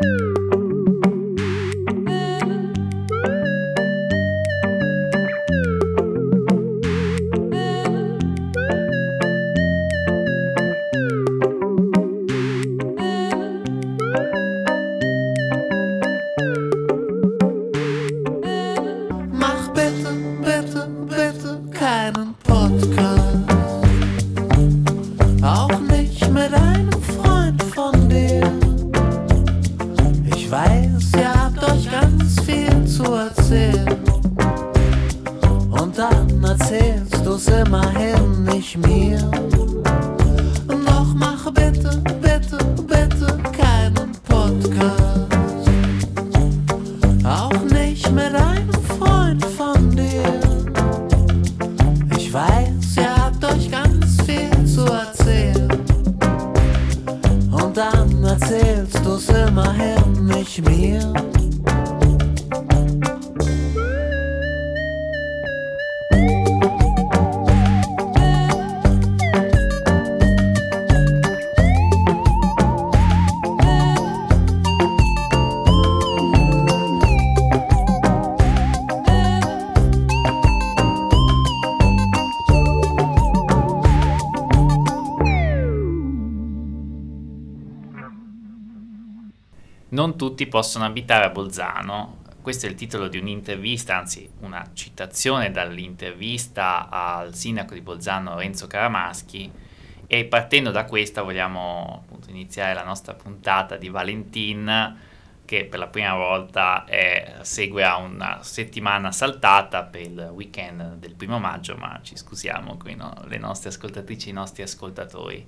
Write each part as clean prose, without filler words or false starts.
Non tutti possono abitare a Bolzano. Questo è il titolo di un'intervista, anzi una citazione dall'intervista al sindaco di Bolzano Renzo Caramaschi, e partendo da questa vogliamo appunto iniziare la nostra puntata di Valentin, che per la prima volta segue a una settimana saltata per il weekend del 1° maggio, ma ci scusiamo qui, no? Le nostre ascoltatrici e i nostri ascoltatori.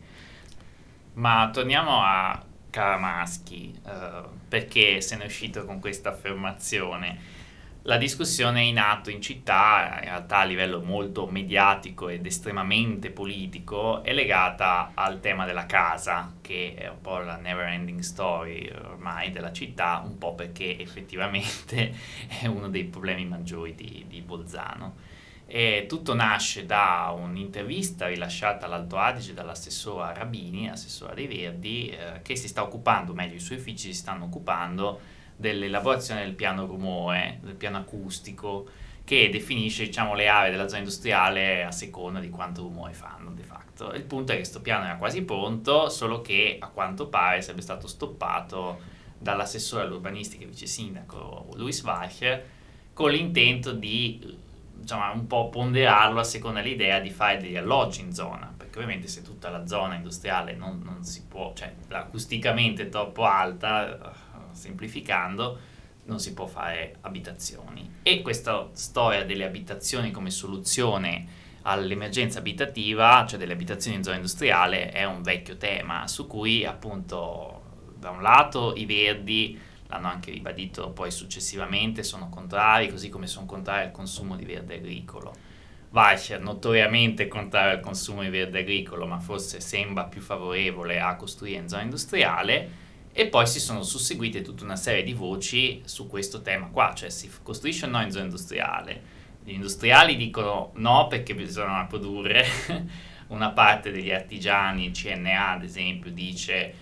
Ma torniamo a Caramaschi, perché se ne è uscito con questa affermazione. La discussione è in atto in città, in realtà a livello molto mediatico ed estremamente politico, è legata al tema della casa, che è un po' la never ending story ormai della città, un po' perché effettivamente è uno dei problemi maggiori di Bolzano. E tutto nasce da un'intervista rilasciata all'Alto Adige dall'assessora Rabini, assessora dei Verdi, che si sta occupando, meglio i suoi uffici si stanno occupando dell'elaborazione del piano rumore, del piano acustico, che definisce, diciamo, le aree della zona industriale a seconda di quanto rumore fanno de facto. Il punto è che questo piano era quasi pronto, solo che a quanto pare sarebbe stato stoppato dall'assessore all'urbanistica e vice sindaco Luis Weicher, con l'intento di, insomma, un po' ponderarlo a seconda dell'idea di fare degli alloggi in zona, perché ovviamente se tutta la zona industriale non si può, cioè acusticamente è troppo alta, semplificando, non si può fare abitazioni. E questa storia delle abitazioni come soluzione all'emergenza abitativa, cioè delle abitazioni in zona industriale, è un vecchio tema su cui appunto da un lato i Verdi l'hanno anche ribadito poi successivamente, sono contrari, così come sono contrari al consumo di verde agricolo. Weicher notoriamente contrario al consumo di verde agricolo, ma forse sembra più favorevole a costruire in zona industriale. E poi si sono susseguite tutta una serie di voci su questo tema qua, cioè si costruisce o no in zona industriale. Gli industriali dicono no perché bisogna produrre, una parte degli artigiani, il CNA ad esempio, dice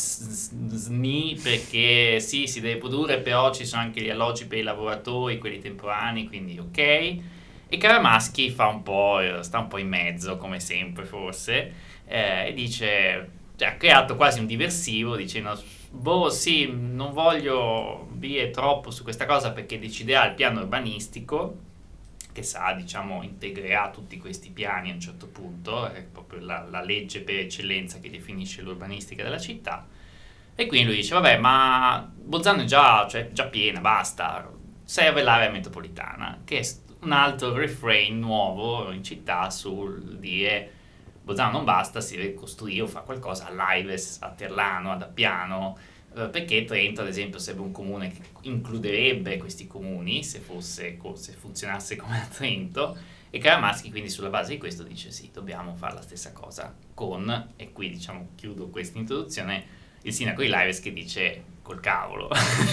SNI perché sì, si deve produrre, però ci sono anche gli alloggi per i lavoratori, quelli temporanei, quindi ok. E Caramaschi sta un po' in mezzo, come sempre forse, e dice, cioè, ha creato quasi un diversivo dicendo boh sì, non voglio dire troppo su questa cosa perché deciderà il piano urbanistico, che sarà, diciamo, integrerà tutti questi piani a un certo punto, è proprio la legge per eccellenza che definisce l'urbanistica della città. E quindi lui dice vabbè, ma Bolzano è già piena, basta, serve l'area metropolitana, che è un altro refrain nuovo in città sul dire Bolzano non basta, si deve costruire o fare qualcosa all'Aives, a Terlano, ad Appiano, perché Trento ad esempio sarebbe un comune che includerebbe questi comuni se funzionasse come a Trento, e Caramaschi quindi sulla base di questo dice sì, dobbiamo fare la stessa cosa con, e qui diciamo chiudo questa introduzione, il sindaco di Laives che dice col cavolo,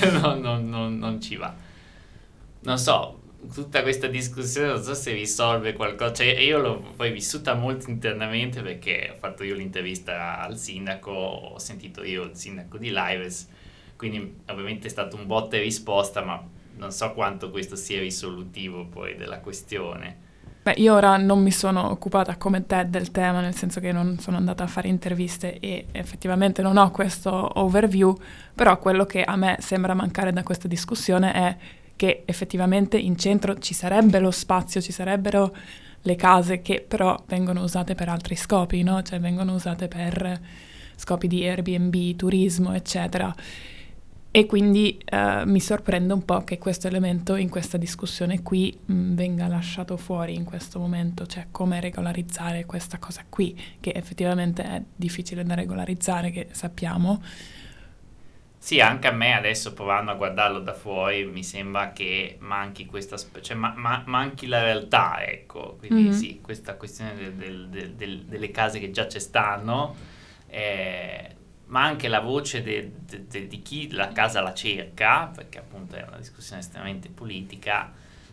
non ci va. Non so, tutta questa discussione non so se risolve qualcosa, cioè io l'ho poi vissuta molto internamente perché ho fatto io l'intervista al sindaco, ho sentito io il sindaco di Laives, quindi ovviamente è stato un botta e risposta, ma non so quanto questo sia risolutivo poi della questione. Beh, io ora non mi sono occupata come te del tema, nel senso che non sono andata a fare interviste e effettivamente non ho questo overview, però quello che a me sembra mancare da questa discussione è che effettivamente in centro ci sarebbe lo spazio, ci sarebbero le case che però vengono usate per altri scopi, no? Cioè vengono usate per scopi di Airbnb, turismo, eccetera. E quindi mi sorprende un po' che questo elemento in questa discussione qui venga lasciato fuori in questo momento, cioè come regolarizzare questa cosa qui, che effettivamente è difficile da regolarizzare, che sappiamo. Sì, anche a me adesso provando a guardarlo da fuori mi sembra che manchi questa, cioè manchi la realtà, ecco. Quindi Mhm. sì, questa questione delle case che già ci stanno, ma anche la voce di chi la casa la cerca, perché appunto è una discussione estremamente politica,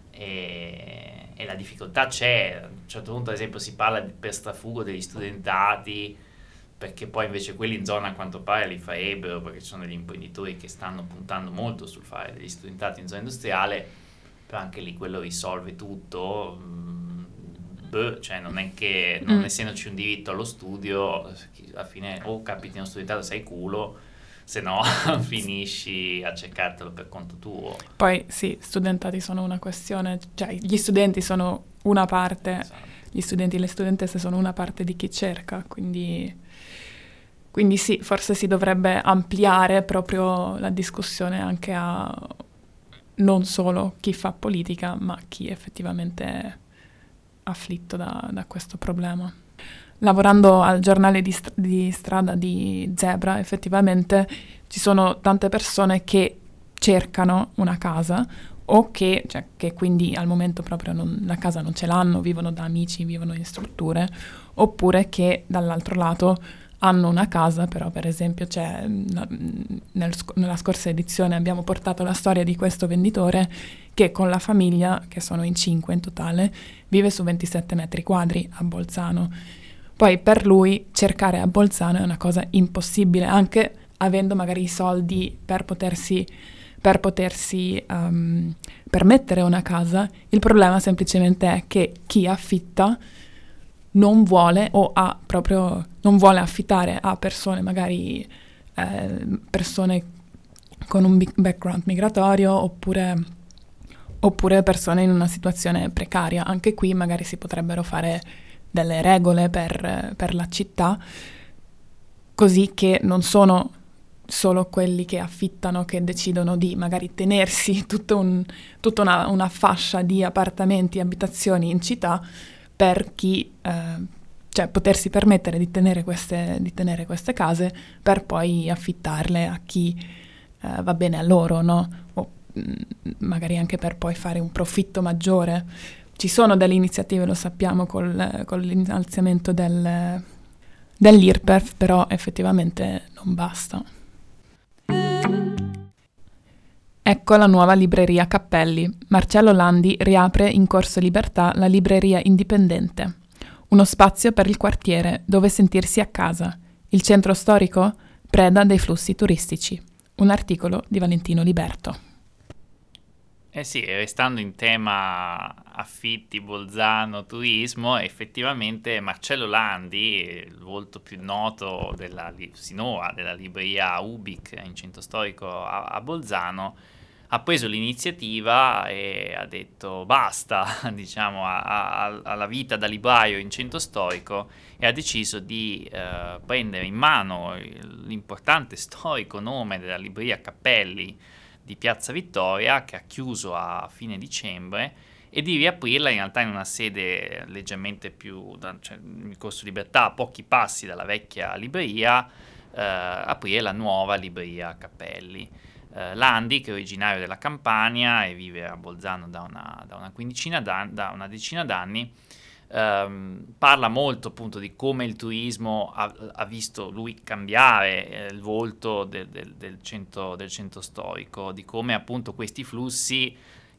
e la difficoltà c'è. A un certo punto, ad esempio, si parla per strafugo degli studentati, perché poi invece quelli in zona a quanto pare li farebbero, perché ci sono degli imprenditori che stanno puntando molto sul fare degli studentati in zona industriale, però anche lì quello risolve tutto. Cioè non è che non Mm. essendoci un diritto allo studio, alla fine o capiti uno studentato sei culo, se no finisci a cercartelo per conto tuo. Poi sì, studentati sono una questione, cioè gli studenti sono una parte, Esatto. gli studenti e le studentesse sono una parte di chi cerca, quindi sì, forse si dovrebbe ampliare proprio la discussione anche a non solo chi fa politica, ma chi effettivamente è afflitto da questo problema. Lavorando al giornale di strada di Zebra, effettivamente ci sono tante persone che cercano una casa o che quindi al momento proprio la casa non ce l'hanno, vivono da amici, vivono in strutture, oppure che dall'altro lato hanno una casa, però per esempio nella scorsa edizione abbiamo portato la storia di questo venditore che con la famiglia, che sono in 5 in totale, vive su 27 metri quadri a Bolzano. Poi per lui cercare a Bolzano è una cosa impossibile, anche avendo magari i soldi per potersi permettere una casa. Il problema semplicemente è che chi affitta non vuole o ha proprio non vuole affittare a persone magari persone con un background migratorio oppure persone in una situazione precaria. Anche qui magari si potrebbero fare delle regole per la città, così che non sono solo quelli che affittano che decidono di magari tenersi tutta una fascia di appartamenti e abitazioni in città per chi, cioè potersi permettere di tenere queste case per poi affittarle a chi va bene a loro, no? O magari anche per poi fare un profitto maggiore. Ci sono delle iniziative, lo sappiamo, con l'innalzamento dell'IRPEF, però effettivamente non basta. Ecco la nuova libreria Cappelli. Marcello Landi riapre in Corso Libertà la libreria indipendente. Uno spazio per il quartiere dove sentirsi a casa. Il centro storico? Preda dei flussi turistici. Un articolo di Valentino Liberto. Eh sì, restando in tema affitti, Bolzano, turismo, effettivamente Marcello Landi, il volto più noto sinora della libreria Ubik in centro storico a Bolzano, ha preso l'iniziativa e ha detto basta, diciamo, alla vita da libraio in centro storico, e ha deciso di prendere in mano l'importante storico nome della libreria Cappelli di Piazza Vittoria, che ha chiuso a fine dicembre, e di riaprirla in realtà in una sede leggermente più, cioè in Corso Libertà, a pochi passi dalla vecchia libreria, aprire la nuova libreria Cappelli. Landi, che è originario della Campania e vive a Bolzano da una decina d'anni, parla molto appunto di come il turismo ha visto lui cambiare il volto del centro storico, di come appunto questi flussi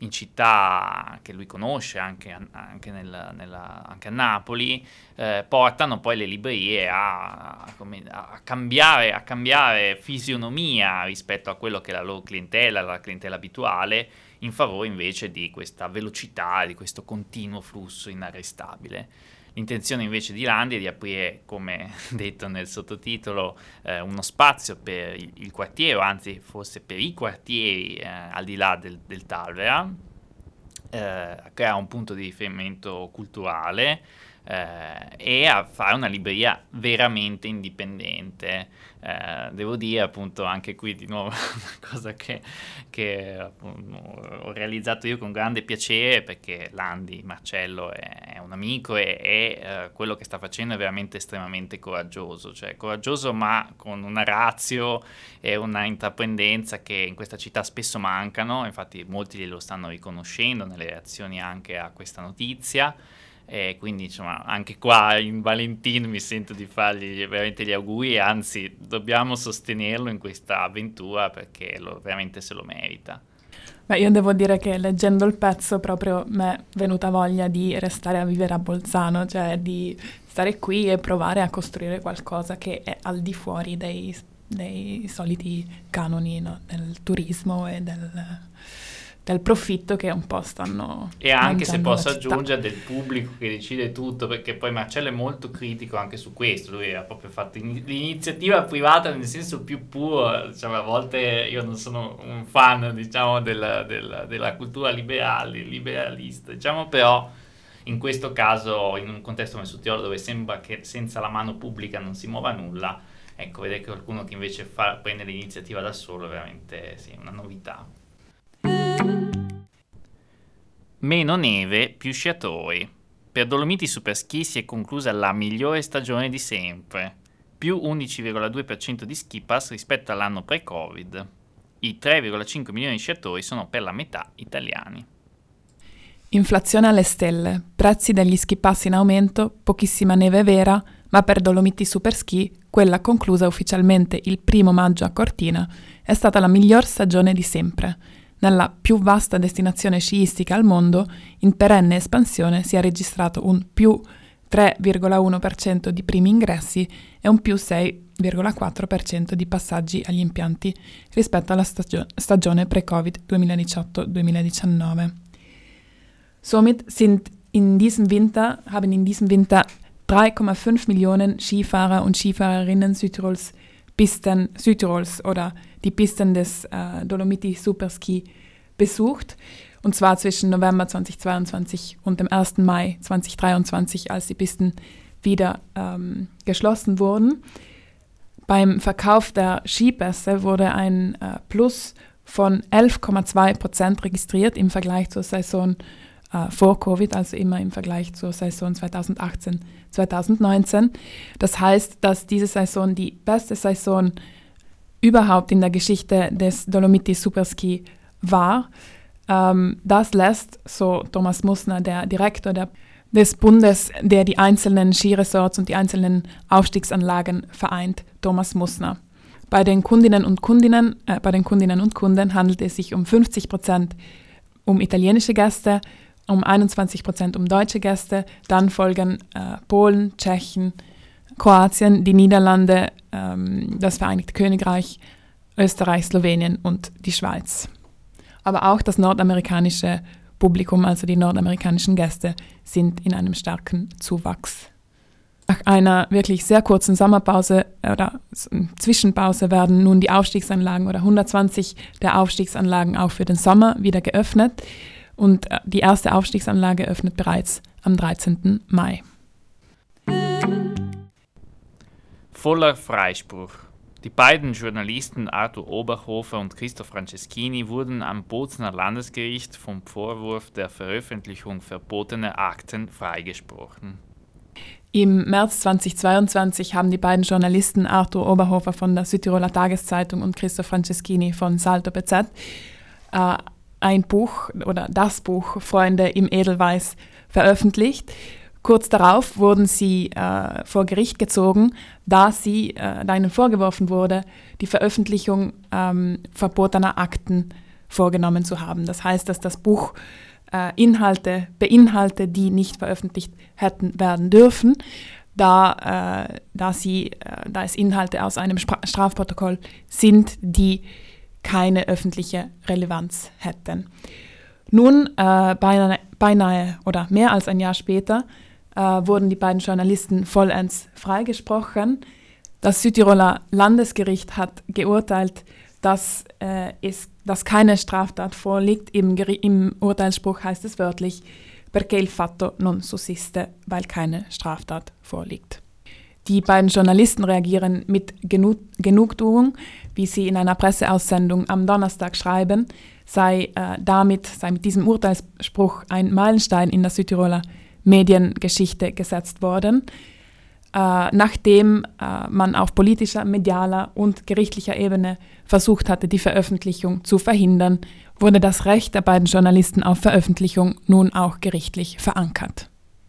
in città che lui conosce, anche a Napoli, portano poi le librerie a cambiare fisionomia rispetto a quello che è la loro clientela, la clientela abituale, in favore invece di questa velocità, di questo continuo flusso inarrestabile. L'intenzione invece di Landi è di aprire, come detto nel sottotitolo, uno spazio per il quartiere, anzi forse per i quartieri al di là del Talvera, creare un punto di riferimento culturale e a fare una libreria veramente indipendente. Devo dire appunto anche qui di nuovo una cosa che appunto, ho realizzato io con grande piacere, perché Landi, Marcello è un amico e quello che sta facendo è veramente estremamente coraggioso, cioè coraggioso ma con una ratio e una intraprendenza che in questa città spesso mancano. Infatti molti glielo stanno riconoscendo nelle reazioni anche a questa notizia. E quindi insomma anche qua in Valentino mi sento di fargli veramente gli auguri, anzi dobbiamo sostenerlo in questa avventura perché veramente se lo merita. Beh, io devo dire che leggendo il pezzo proprio mi è venuta voglia di restare a vivere a Bolzano, cioè di stare qui e provare a costruire qualcosa che è al di fuori dei soliti canoni, no? Del turismo e del profitto che un po' stanno e anche, se posso la città, aggiungere, del pubblico che decide tutto, perché poi Marcello è molto critico anche su questo. Lui ha proprio fatto l'iniziativa privata nel senso più puro, diciamo. A volte io non sono un fan, diciamo, della cultura liberalista, diciamo, però in questo caso, in un contesto come Sutiolo, dove sembra che senza la mano pubblica non si muova nulla, ecco, vedere che qualcuno che invece prende l'iniziativa da solo è veramente sì, una novità. Meno neve, più sciatori. Per Dolomiti Superski si è conclusa la migliore stagione di sempre, più 11,2% di ski pass rispetto all'anno pre-Covid. I 3,5 milioni di sciatori sono per la metà italiani. Inflazione alle stelle, prezzi degli ski pass in aumento, pochissima neve vera, ma per Dolomiti Superski, quella conclusa ufficialmente il 1 maggio a Cortina, è stata la miglior stagione di sempre. Nella più vasta destinazione sciistica al mondo, in perenne espansione, si è registrato un più 3,1% di primi ingressi e un più 6,4% di passaggi agli impianti rispetto alla stagione pre-Covid 2018-2019. Somit haben in diesem Winter 3,5 Millionen Skifahrer und Skifahrerinnen Südtirols oder die Pisten des Dolomiti Superski besucht, und zwar zwischen November 2022 und dem 1. Mai 2023, als die Pisten wieder geschlossen wurden. Beim Verkauf der Skipässe wurde ein Plus von 11,2% registriert im Vergleich zur Saison vor Covid, also immer im Vergleich zur Saison 2018-2019. Das heißt, dass diese Saison die beste Saison überhaupt in der Geschichte des Dolomiti Superski war. Das lässt, so Thomas Mussner, der Direktor des Bundes, der die einzelnen Skiresorts und die einzelnen Aufstiegsanlagen vereint, Thomas Mussner. Bei den Kundinnen und Kunden handelt es sich um 50% um italienische Gäste, um 21% um deutsche Gäste, dann folgen Polen, Tschechien, Kroatien, die Niederlande, das Vereinigte Königreich, Österreich, Slowenien und die Schweiz. Aber auch das nordamerikanische Publikum, also die nordamerikanischen Gäste, sind in einem starken Zuwachs. Nach einer wirklich sehr kurzen Sommerpause oder Zwischenpause werden nun die Aufstiegsanlagen oder 120 der Aufstiegsanlagen auch für den Sommer wieder geöffnet. Und die erste Aufstiegsanlage öffnet bereits am 13. Mai. Voller Freispruch. Die beiden Journalisten Arthur Oberhofer und Christoph Franceschini wurden am Bozner Landesgericht vom Vorwurf der Veröffentlichung verbotener Akten freigesprochen. Im März 2022 haben die beiden Journalisten Arthur Oberhofer von der Südtiroler Tageszeitung und Christoph Franceschini von Salto BZ ein Buch oder das Buch Freunde im Edelweiß veröffentlicht. Kurz darauf wurden sie vor Gericht gezogen, da ihnen vorgeworfen wurde, die Veröffentlichung verbotener Akten vorgenommen zu haben. Das heißt, dass das Buch Inhalte beinhaltet, die nicht veröffentlicht hätten werden dürfen, da es Inhalte aus einem Strafprotokoll sind, die keine öffentliche Relevanz hätten. Nun, beinahe oder mehr als ein Jahr später, wurden die beiden Journalisten vollends freigesprochen. Das Südtiroler Landesgericht hat geurteilt, dass keine Straftat vorliegt. Im Urteilsspruch heißt es wörtlich, perché il fatto non sussiste, weil keine Straftat vorliegt. Die beiden Journalisten reagieren mit Genugtuung, wie sie in einer Presseaussendung am Donnerstag schreiben, sei mit diesem Urteilsspruch ein Meilenstein in der Südtiroler Mediengeschichte gesetzt worden. Nachdem man auf politischer, medialer und gerichtlicher Ebene versucht hatte, die Veröffentlichung zu verhindern, wurde das Recht der beiden Journalisten auf Veröffentlichung nun auch gerichtlich verankert.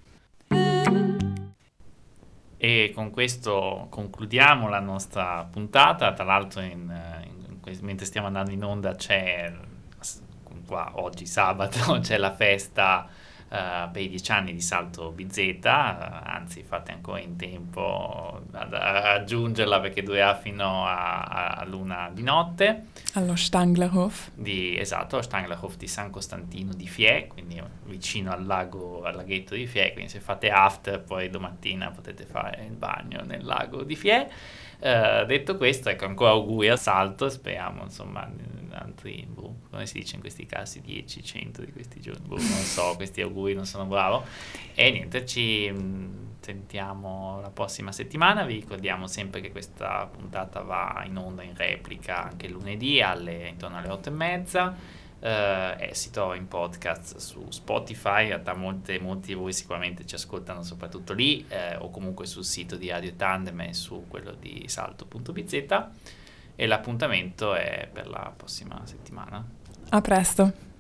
E con questo concludiamo la nostra puntata. Tra l'altro mentre stiamo andando in onda qua oggi sabato c'è la festa per i 10 anni di Salto BZ, anzi fate ancora in tempo a raggiungerla perché durerà fino a luna di notte. Allo Stanglerhof. Esatto, allo Stanglerhof di San Costantino di Fiè, quindi vicino al laghetto di Fiè, quindi se fate after poi domattina potete fare il bagno nel lago di Fiè. Detto questo, ecco, ancora auguri al Salto, speriamo insomma altri, come si dice in questi casi, 10, 100 di questi giorni, non so, questi auguri non sono bravo. E niente, ci sentiamo la prossima settimana. Vi ricordiamo sempre che questa puntata va in onda in replica anche lunedì intorno alle 8:30. Si trova in podcast su Spotify, in realtà molti di voi sicuramente ci ascoltano soprattutto lì, o comunque sul sito di Radio Tandem e su quello di salto.bz, e l'appuntamento è per la prossima settimana. A presto!